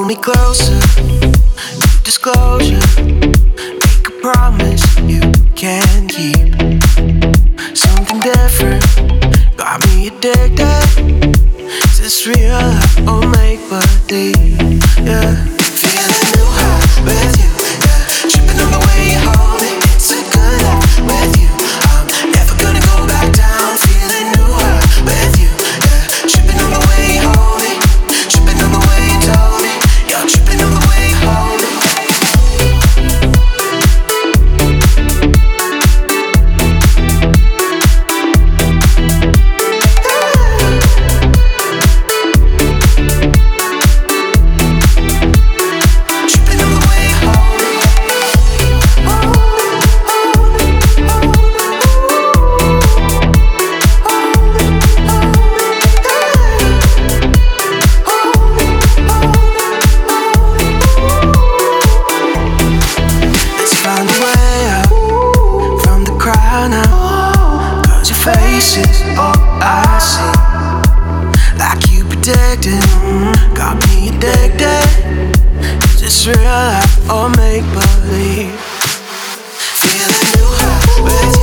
me closer, new disclosure. Make a promise you can keep. Something different, got me addicted. Is this real or make believe? Yeah, feeling new high with you. Yeah, tripping on the way you hold me. It's a good life with you. I'm never gonna go back down. Feeling new high with you. Yeah, tripping on the way you hold me. Tripping on the way you told me. You're tripping on the way you hold me. Is all I see, like you predicted, got me addicted. Is this real life or make believe? Feeling new high with you.